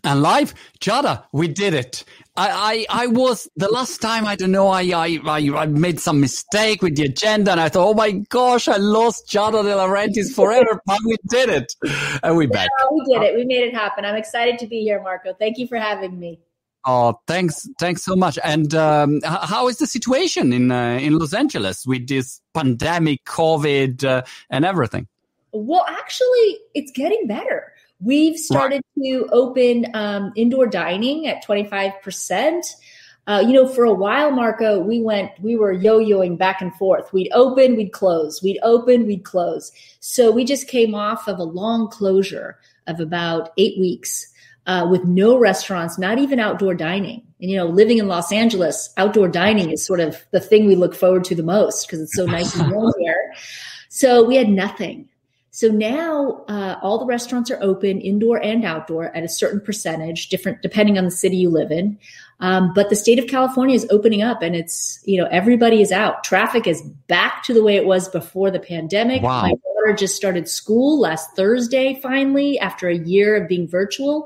And live, Giada, we did it. I was the last time, I don't know, I made some mistake with the agenda and I thought, oh my gosh, I lost Giada De Laurentiis forever, but we did it. And we're back. Yeah, we did it. We made it happen. I'm excited to be here, Marco. Thank you for having me. Oh, thanks so much. And how is the situation in Los Angeles with this pandemic, COVID, and everything? Well, actually, it's getting better. We've started to open indoor dining at 25%. For a while, Marco, we were yo-yoing back and forth. We'd open, we'd close. We'd open, we'd close. So we just came off of a long closure of about 8 weeks with no restaurants, not even outdoor dining. And, living in Los Angeles, outdoor dining is sort of the thing we look forward to the most because it's so nice and warm here. So we had nothing. So now all the restaurants are open, indoor and outdoor, at a certain percentage, different depending on the city you live in. But the state of California is opening up, and it's everybody is out. Traffic is back to the way it was before the pandemic. Wow. My daughter just started school last Thursday, finally, after a year of being virtual.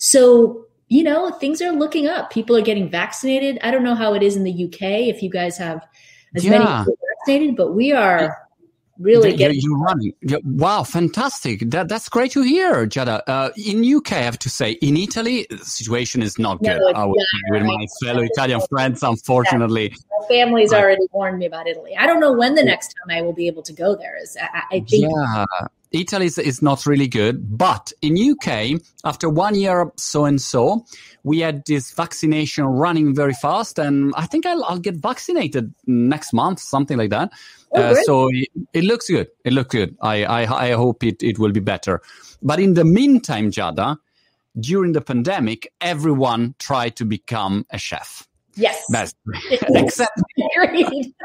So things are looking up. People are getting vaccinated. I don't know how it is in the UK if you guys have as many people vaccinated, but we are. Really you're running. Wow, fantastic. That's great to hear, Giada. In UK, I have to say, in Italy, the situation is not good. With my fellow Italian friends, unfortunately. Yeah. My family's already warned me about Italy. I don't know when the next time I will be able to go there. I think. Yeah. Italy is not really good, but in UK, after 1 year so, we had this vaccination running very fast, and I think I'll get vaccinated next month, something like that. So it looks good. It looks good. I hope it will be better. But in the meantime, Giada, during the pandemic, everyone tried to become a chef. Yes. Except agreed.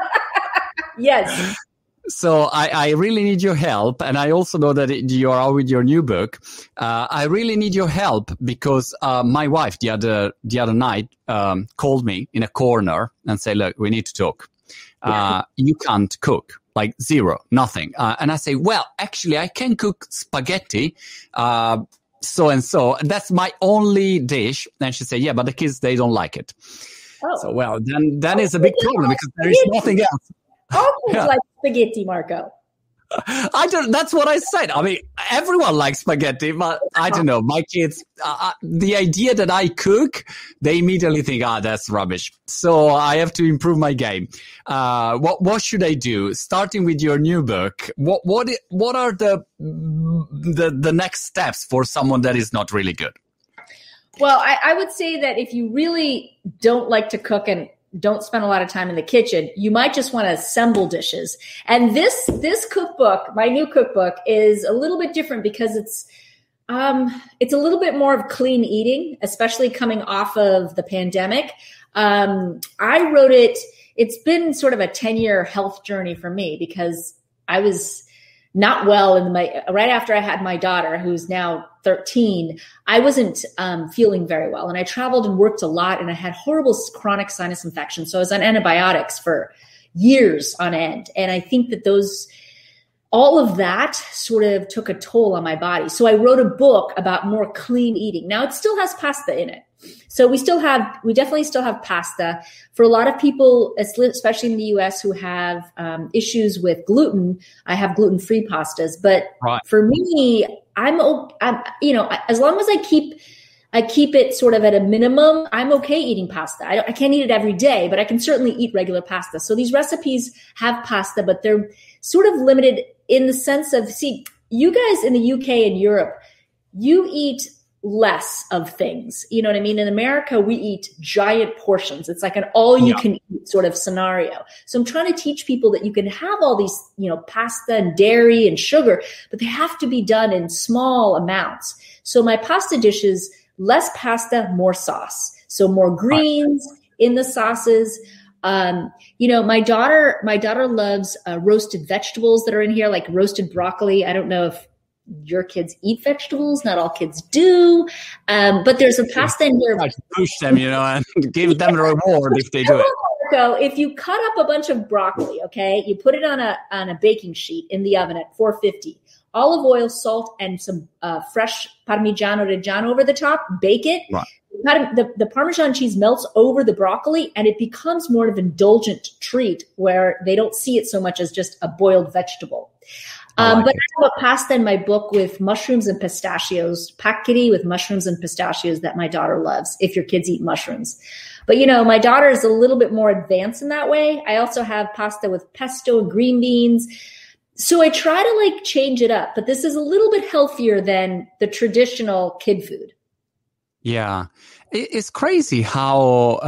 Yes. So I really need your help. And I also know that you are out with your new book. I really need your help because my wife the other night called me in a corner and said, look, we need to talk. You can't cook, like zero, nothing. And I say, well, actually, I can cook spaghetti, so and so. That's my only dish. And she said, yeah, but the kids, they don't like it. Oh. So, well, then it's a big problem because there is nothing else. All kids like spaghetti, Marco. That's what I said. I mean, everyone likes spaghetti, but I don't know. My kids, the idea that I cook, they immediately think, that's rubbish. So I have to improve my game. What should I do? Starting with your new book, what are the next steps for someone that is not really good? Well, I would say that if you really don't like to cook and don't spend a lot of time in the kitchen, you might just want to assemble dishes. And this cookbook, my new cookbook, is a little bit different because it's a little bit more of clean eating, especially coming off of the pandemic. I wrote it. It's been sort of a 10-year health journey for me because I was not well right after I had my daughter, who's now 13. I wasn't feeling very well, and I traveled and worked a lot, and I had horrible chronic sinus infection. So I was on antibiotics for years on end, and I think that all of that sort of took a toll on my body. So I wrote a book about more clean eating. Now it still has pasta in it. So we definitely still have pasta. For a lot of people, especially in the US, who have issues with gluten, I have gluten-free pastas. But for me, I'm as long as I keep it sort of at a minimum, I'm okay eating pasta. I can't eat it every day, but I can certainly eat regular pasta. So these recipes have pasta, but they're sort of limited in the sense of, you guys in the UK and Europe, you eat less of things. You know what I mean? In America, we eat giant portions. It's like an all-you-can-eat sort of scenario. So I'm trying to teach people that you can have all these, pasta and dairy and sugar, but they have to be done in small amounts. So my pasta dishes, less pasta, more sauce. So more greens in the sauces. My daughter loves roasted vegetables that are in here, like roasted broccoli. I don't know if your kids eat vegetables. Not all kids do. But there's a pasta in here. I push them, and give them a reward if they do it. So if you cut up a bunch of broccoli, okay, you put it on a baking sheet in the oven at 450. olive oil, salt, and some fresh Parmigiano Reggiano over the top. Bake it. Right. The Parmesan cheese melts over the broccoli, and it becomes more of an indulgent treat where they don't see it so much as just a boiled vegetable. But I have a pasta in my book with mushrooms and pistachios, paccheri with mushrooms and pistachios that my daughter loves, if your kids eat mushrooms. But, my daughter is a little bit more advanced in that way. I also have pasta with pesto and green beans. So I try to change it up, but this is a little bit healthier than the traditional kid food. Yeah, it's crazy how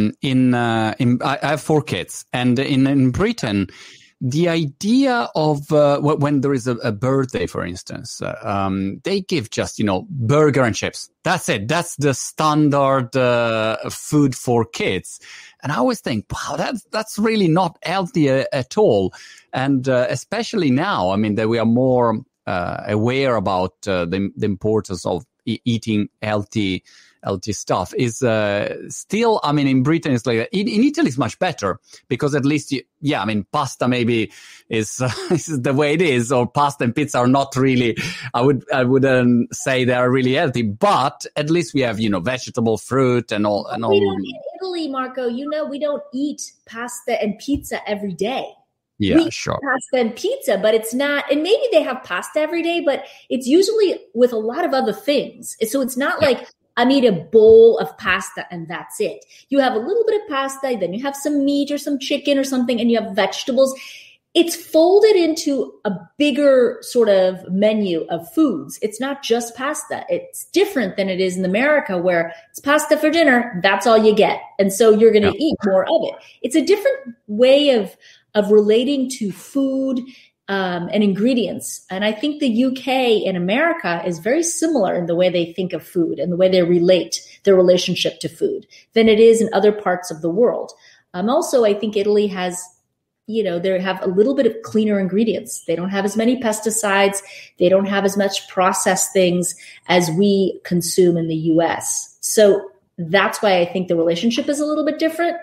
I have 4 kids, and in Britain, the idea of when there is a birthday, for instance, they give just burger and chips. That's it. That's the standard food for kids. And I always think, wow, that's really not healthy at all. And especially now, I mean, that we are more aware about the importance of eating healthy stuff is still, I mean, in Britain it's like that. In Italy it's much better because at least, pasta maybe is the way it is, or pasta and pizza are not really, I wouldn't say they are really healthy, but at least we have, vegetable, fruit and all. In Italy, Marco, we don't eat pasta and pizza every day. Yeah, sure. Pasta and pizza, but it's not, and maybe they have pasta every day, but it's usually with a lot of other things. So it's not like I eat a bowl of pasta and that's it. You have a little bit of pasta, then you have some meat or some chicken or something, and you have vegetables. It's folded into a bigger sort of menu of foods. It's not just pasta. It's different than it is in America, where it's pasta for dinner. That's all you get. And so you're going to eat more of it. It's a different way of relating to food and ingredients. And I think the UK and America is very similar in the way they think of food and the way they relate their relationship to food than it is in other parts of the world. Also, I think Italy has, they have a little bit of cleaner ingredients. They don't have as many pesticides. They don't have as much processed things as we consume in the US. So that's why I think the relationship is a little bit different.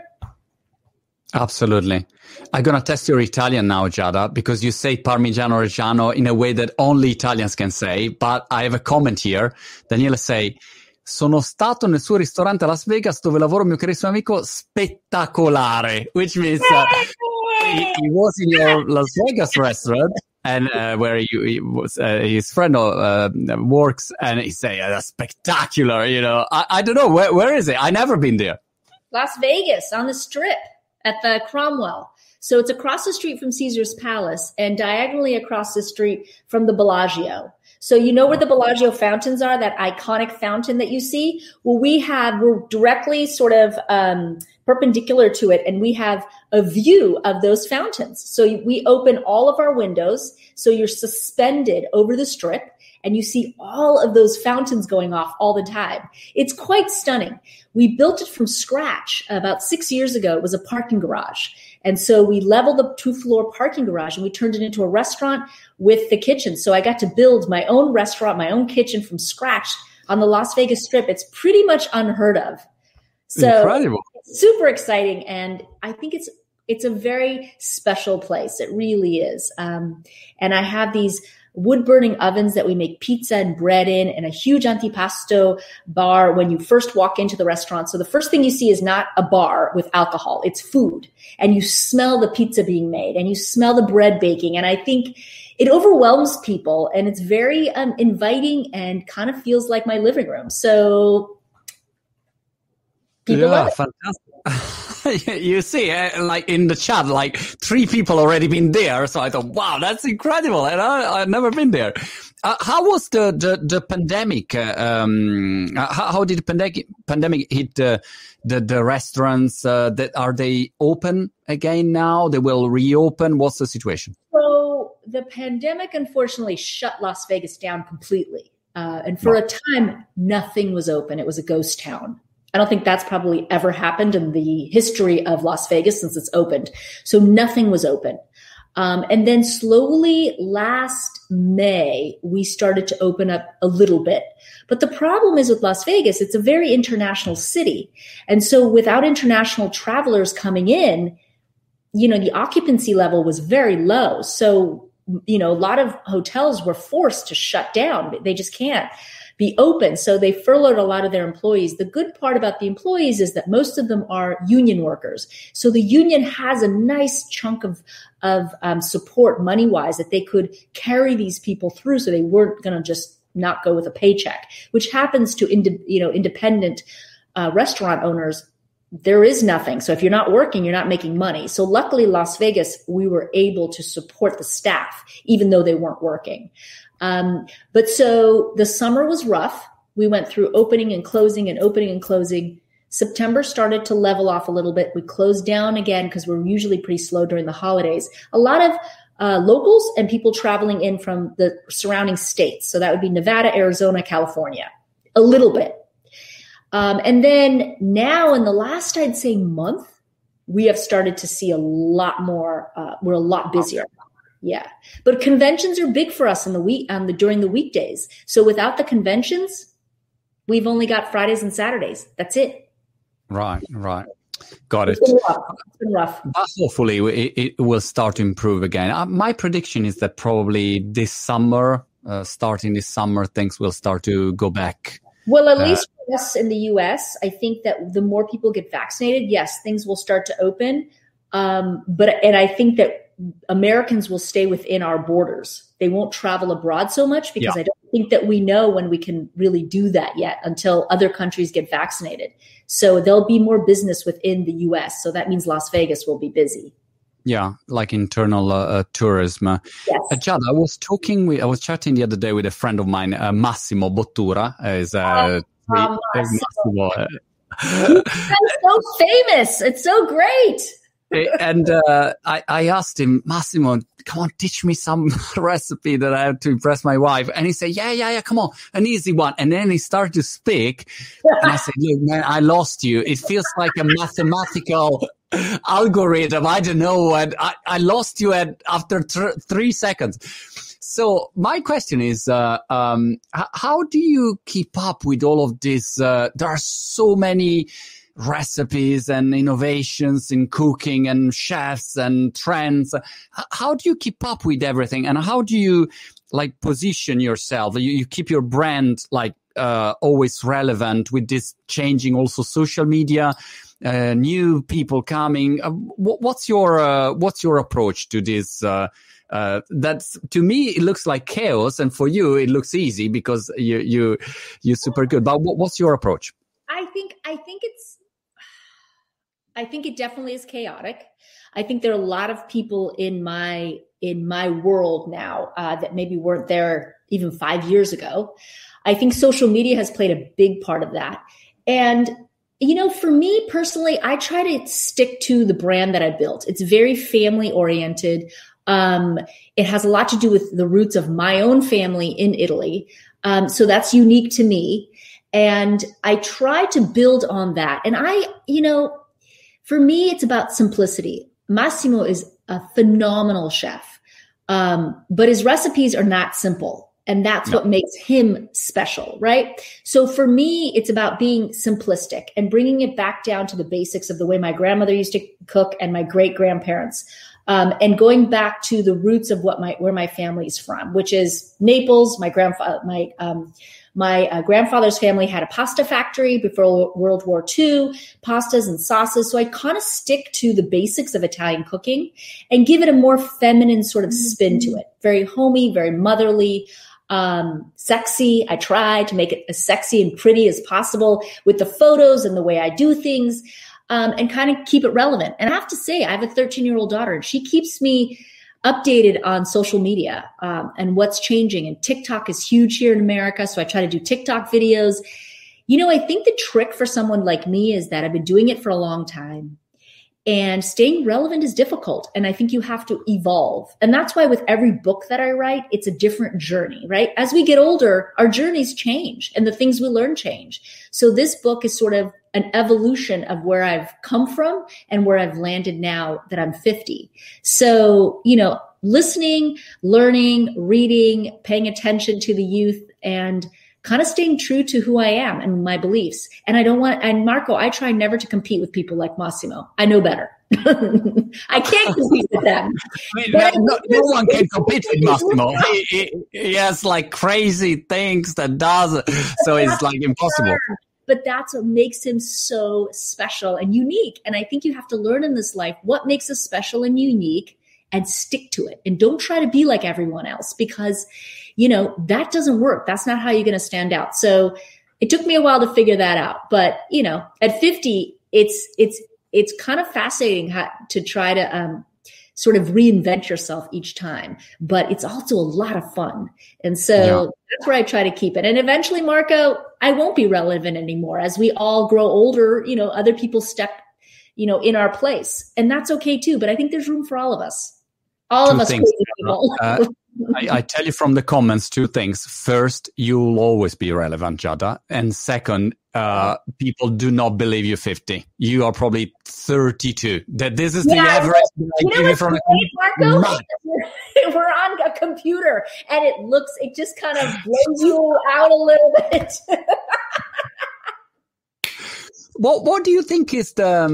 Absolutely. I'm going to test your Italian now, Giada, because you say Parmigiano Reggiano in a way that only Italians can say, but I have a comment here. Daniele say, sono stato nel suo ristorante a Las Vegas dove lavoro mio carissimo amico, spettacolare, which means he was in your Las Vegas restaurant and where his friend works, and he say, that's spectacular, I don't know, where is it? I've never been there. Las Vegas on the Strip. At the Cromwell. So it's across the street from Caesar's Palace and diagonally across the street from the Bellagio. So where the Bellagio fountains are, that iconic fountain that you see? Well, we're directly sort of perpendicular to it, and we have a view of those fountains. So we open all of our windows, so you're suspended over the Strip, and you see all of those fountains going off all the time. It's quite stunning. We built it from scratch about 6 years ago. It was a parking garage. And so we leveled the 2-floor parking garage and we turned it into a restaurant with the kitchen. So I got to build my own restaurant, my own kitchen from scratch on the Las Vegas Strip. It's pretty much unheard of. So incredible. It's super exciting. And I think it's a very special place. It really is. And I have these wood-burning ovens that we make pizza and bread in, and a huge antipasto bar when you first walk into the restaurant. So the first thing you see is not a bar with alcohol, it's food. And you smell the pizza being made, and you smell the bread baking. And I think it overwhelms people, and it's very inviting and kind of feels like my living room. So people love it. Fantastic. You see, like in the chat, like 3 people already been there. So I thought, wow, that's incredible. And I've never been there. How was the pandemic? How did the pandemic hit the restaurants? Are they open again now? They will reopen. What's the situation? So the pandemic, unfortunately, shut Las Vegas down completely. And for a time, nothing was open. It was a ghost town. I don't think that's probably ever happened in the history of Las Vegas since it's opened. So nothing was open. And then slowly last May, we started to open up a little bit. But the problem is with Las Vegas, it's a very international city. And so without international travelers coming in, the occupancy level was very low. So a lot of hotels were forced to shut down. They just can't be open. So they furloughed a lot of their employees. The good part about the employees is that most of them are union workers. So the union has a nice chunk of support money-wise that they could carry these people through, so they weren't going to just not go with a paycheck, which happens to independent restaurant owners. There is nothing. So if you're not working, you're not making money. So luckily, Las Vegas, we were able to support the staff, even though they weren't working. But so the summer was rough. We went through opening and closing and opening and closing. September started to level off a little bit. We closed down again because we're usually pretty slow during the holidays. A lot of locals and people traveling in from the surrounding states. So that would be Nevada, Arizona, California, a little bit. And then now in the last, I'd say, month, we have started to see a lot more. We're a lot busier. Yeah. But conventions are big for us during the weekdays. So without the conventions, we've only got Fridays and Saturdays. That's it. Right. Got it. It's been rough. But hopefully it will start to improve again. My prediction is that probably this summer, starting this summer, things will start to go back. Well, at least for us in the U.S., I think that the more people get vaccinated, yes, things will start to open. And I think that Americans will stay within our borders. They won't travel abroad so much because I don't think that we know when we can really do that yet until other countries get vaccinated. So there'll be more business within the U.S. So that means Las Vegas will be busy. Yeah, like internal tourism. Yes. Jad, I was chatting the other day with a friend of mine, Massimo Bottura. Massimo. He's so famous. It's so great. And I asked him, Massimo, come on, teach me some recipe that I have to impress my wife. And he said, yeah, come on, an easy one. And then he started to speak. And I said, look, man, I lost you. It feels like a mathematical algorithm. I don't know. And I lost you after 3 seconds. So my question is, how do you keep up with all of this? There are so many recipes and innovations in cooking and chefs and trends. How do you keep up with everything? And how do you position yourself? You keep your brand always relevant with this changing also social media, new people coming. What's your approach to this? That's, to me, it looks like chaos, and for you, it looks easy because you're super good. But what's your approach? I think it definitely is chaotic. I think there are a lot of people in my world now that maybe weren't there even 5 years ago. I think social media has played a big part of that. And, for me personally, I try to stick to the brand that I built. It's very family oriented. It has a lot to do with the roots of my own family in Italy. So that's unique to me. And I try to build on that. And for me, it's about simplicity. Massimo is a phenomenal chef, but his recipes are not simple. And that's what makes him special, right? So for me, it's about being simplistic and bringing it back down to the basics of the way my grandmother used to cook and my great-grandparents, and going back to the roots of where my family's from, which is Naples. My grandfather's family had a pasta factory before World War II, pastas and sauces. So I kind of stick to the basics of Italian cooking and give it a more feminine sort of spin to it. Very homey, very motherly, sexy. I try to make it as sexy and pretty as possible with the photos and the way I do things, and kind of keep it relevant. And I have to say, I have a 13-year-old daughter, and she keeps me updated on social media and what's changing. And TikTok is huge here in America. So I try to do TikTok videos. I think the trick for someone like me is that I've been doing it for a long time, and staying relevant is difficult. And I think you have to evolve. And that's why with every book that I write, it's a different journey, right? As we get older, our journeys change and the things we learn change. So this book is sort of an evolution of where I've come from and where I've landed now that I'm 50. So, listening, learning, reading, paying attention to the youth, and kind of staying true to who I am and my beliefs. And and Marco, I try never to compete with people like Massimo. I know better. I can't compete with them. No one can compete with Massimo. He has like crazy things that does, so it's like impossible. But that's what makes him so special and unique. And I think you have to learn in this life what makes us special and unique and stick to it. And don't try to be like everyone else because, that doesn't work. That's not how you're going to stand out. So it took me a while to figure that out. But, at 50, it's kind of fascinating to try to sort of reinvent yourself each time, but it's also a lot of fun. And so that's where I try to keep it. And eventually, Marco, I won't be relevant anymore. As we all grow older, other people step, in our place, and that's okay too. But I think there's room for all of us. All of us crazy people. I tell you from the comments 2 things. First, you'll always be relevant, Giada. And second, people do not believe you're 50. You are probably 32. That this is the average. Marco? We're on a computer and it just kind of blows you out a little bit. What do you think is the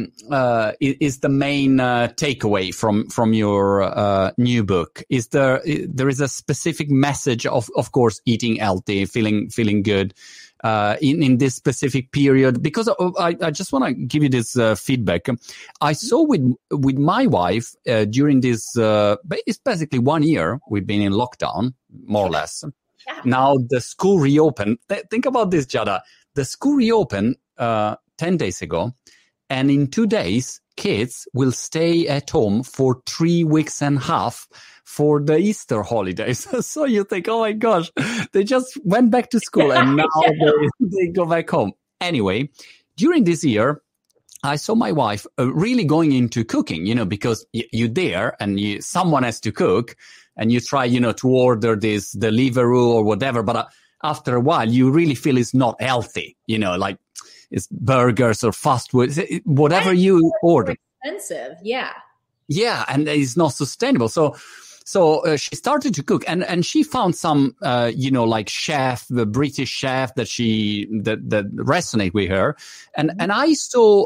main takeaway from your new book? Is there is a specific message of course eating healthy, feeling good in this specific period? Because I just want to give you this feedback. I saw with my wife during this it's basically 1 year we've been in lockdown, more or less. Yeah. Now the school reopened. Think about this, Giada. The school reopened 10 days ago, and in 2 days, kids will stay at home for 3 weeks and a half for the Easter holidays. So you think, oh my gosh, they just went back to school and now they go back home. Anyway, during this year, I saw my wife really going into cooking, because you're there and someone has to cook and you try, to order this Deliveroo or whatever, but after a while, you really feel it's not healthy, like it's burgers or fast food, whatever you order. Expensive, yeah. Yeah, and it's not sustainable. So she started to cook, and she found some, like the British chef that resonate with her, and I saw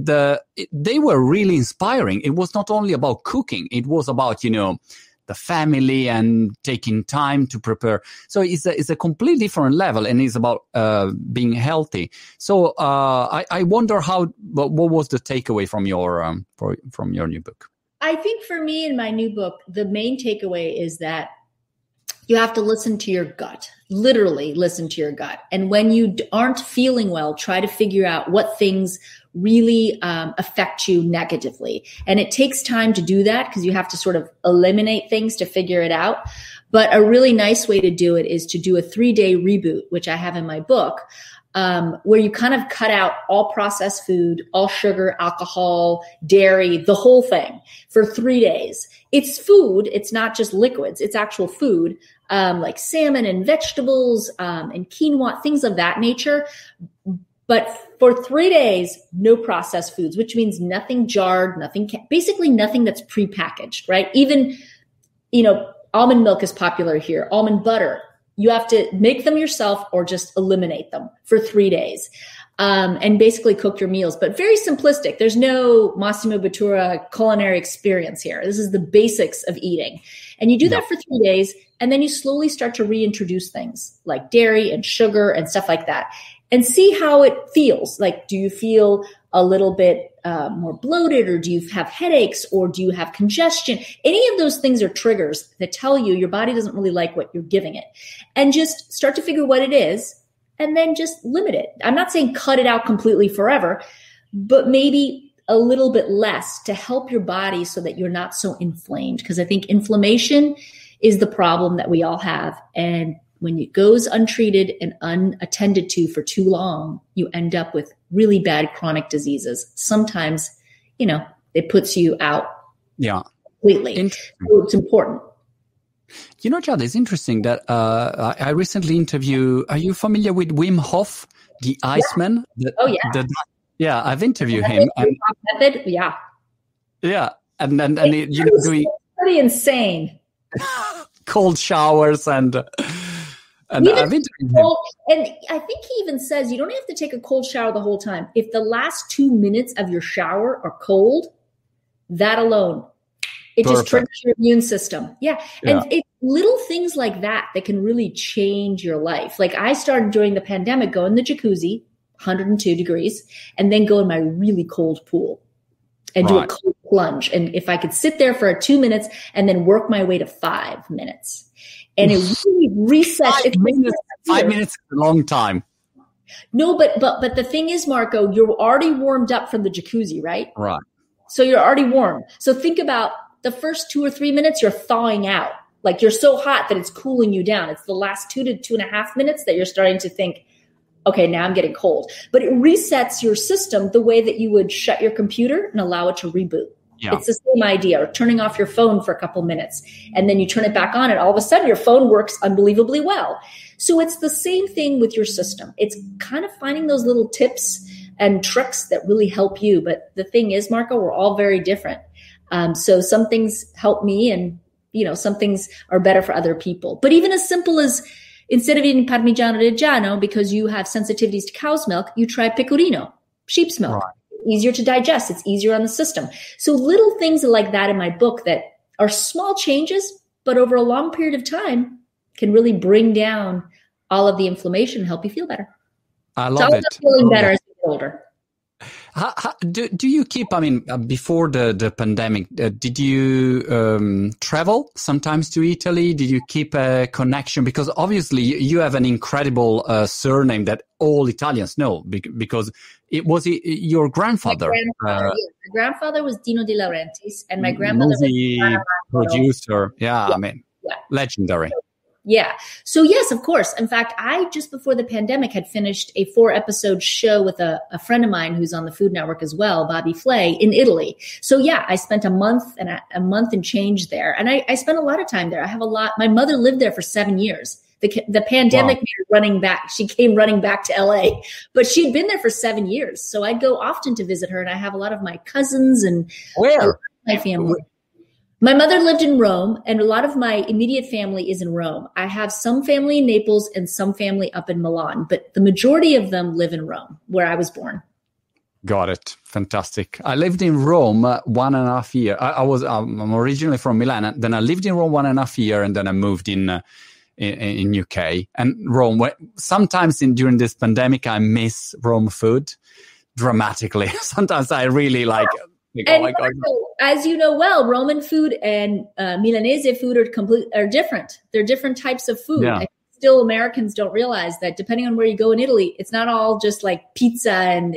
they were really inspiring. It was not only about cooking; it was about the family and taking time to prepare. So it's a completely different level, and it's about being healthy. So I wonder what was the takeaway from your new book? I think for me in my new book, the main takeaway is that you have to listen to your gut, literally listen to your gut. And when you aren't feeling well, try to figure out what things really affect you negatively. And it takes time to do that because you have to sort of eliminate things to figure it out. But a really nice way to do it is to do a 3-day reboot, which I have in my book, where you kind of cut out all processed food, all sugar, alcohol, dairy, the whole thing for 3 days. It's food. It's not just liquids. It's actual food, like salmon and vegetables, and quinoa, things of that nature. But for 3 days, no processed foods, which means nothing jarred, basically nothing that's prepackaged, right? Even, almond milk is popular here, almond butter. You have to make them yourself or just eliminate them for 3 days, and basically cook your meals. But very simplistic. There's no Massimo Bottura culinary experience here. This is the basics of eating. And you do that for 3 days, and then you slowly start to reintroduce things like dairy and sugar and stuff like that. And see how it feels. Like, do you feel a little bit more bloated, or do you have headaches, or do you have congestion? Any of those things are triggers that tell you your body doesn't really like what you're giving it. And just start to figure what it is, and then just limit it. I'm not saying cut it out completely forever, but maybe a little bit less to help your body so that you're not so inflamed. Because I think inflammation is the problem that we all have. And when it goes untreated and unattended to for too long, you end up with really bad chronic diseases. Sometimes, it puts you out completely. So it's important. Chad, it's interesting that I recently interviewed, are you familiar with Wim Hof, the Iceman? I've interviewed him. Method? Yeah. Yeah. And doing pretty insane. Cold showers and I've interviewed him. And I think he even says you don't have to take a cold shower the whole time. If the last 2 minutes of your shower are cold, That alone, it just triggers your immune system. Yeah. And it's little things like that can really change your life. Like I started during the pandemic, go in the jacuzzi, 102 degrees, and then go in my really cold pool and do a cold plunge. And if I could sit there for 2 minutes and then work my way to 5 minutes. And it really resets. 5 minutes is a long time. No, but the thing is, Marco, you're already warmed up from the jacuzzi, right? Right. So you're already warm. So think about the first 2 or 3 minutes, you're thawing out. Like you're so hot that it's cooling you down. It's the last 2 to 2.5 minutes that you're starting to think, okay, now I'm getting cold. But it resets your system the way that you would shut your computer and allow it to reboot. Yeah. It's the same idea, or turning off your phone for a couple minutes and then you turn it back on and all of a sudden your phone works unbelievably well. So it's the same thing with your system. It's kind of finding those little tips and tricks that really help you. But the thing is, Marco, we're all very different. So some things help me and, some things are better for other people. But even as simple as instead of eating Parmigiano Reggiano because you have sensitivities to cow's milk, you try Pecorino, sheep's milk. Right. Easier to digest. It's easier on the system. So little things like that in my book that are small changes, but over a long period of time can really bring down all of the inflammation and help you feel better. I love it. Feeling better as you get older. Do you keep, before the pandemic, did you travel sometimes to Italy? Did you keep a connection? Because obviously you have an incredible surname that all Italians know because it was your grandfather. My grandfather was Dino De Laurentiis and my grandmother was producer. Yeah. Legendary. Yeah. So yes, of course. In fact, I just before the pandemic had finished a 4-episode show with a friend of mine who's on the Food Network as well, Bobby Flay, in Italy. So yeah, I spent a month and change there. And I spent a lot of time there. My mother lived there for 7 years. The pandemic made her running back. She came running back to LA, but she'd been there for 7 years. So I'd go often to visit her and I have a lot of my cousins and my family. My mother lived in Rome, and a lot of my immediate family is in Rome. I have some family in Naples and some family up in Milan, but the majority of them live in Rome, where I was born. Got it. Fantastic. I lived in Rome 1.5 years. I'm originally from Milan. Then I lived in Rome 1.5 years, and then I moved in UK. And Rome, sometimes during this pandemic, I miss Rome food dramatically. Sometimes I really like... And my God. As you know well, Roman food and Milanese food are different. They're different types of food. Yeah. Still, Americans don't realize that depending on where you go in Italy, it's not all just like pizza and,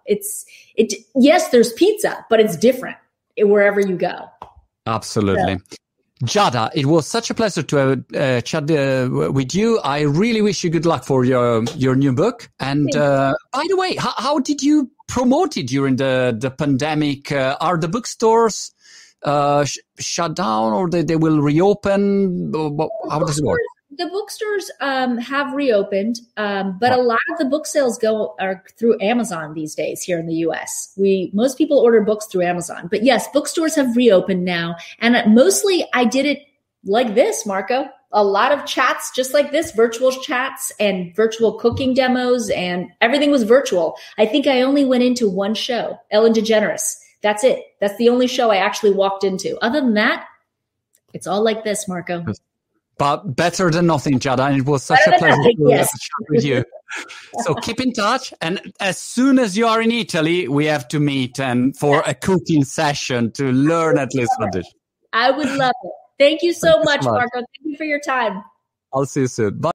yes, there's pizza, but it's different wherever you go. Absolutely. So. Giada, it was such a pleasure to chat with you. I really wish you good luck for your new book. And by the way, how did you promote it during the pandemic? Are the bookstores shut down or they will reopen? How does it work? The bookstores have reopened, but a lot of the book sales are through Amazon these days here in the U.S. Most people order books through Amazon. But yes, bookstores have reopened now. And mostly I did it like this, Marco. A lot of chats just like this, virtual chats and virtual cooking demos, and everything was virtual. I think I only went into one show, Ellen DeGeneres. That's it. That's the only show I actually walked into. Other than that, it's all like this, Marco. But better than nothing, Giada. And it was such a pleasure to chat with you. So keep in touch. And as soon as you are in Italy, we have to meet and for a cooking session to learn at least one dish. I would love it. Thank you so much, Marco. Thank you for your time. I'll see you soon. Bye.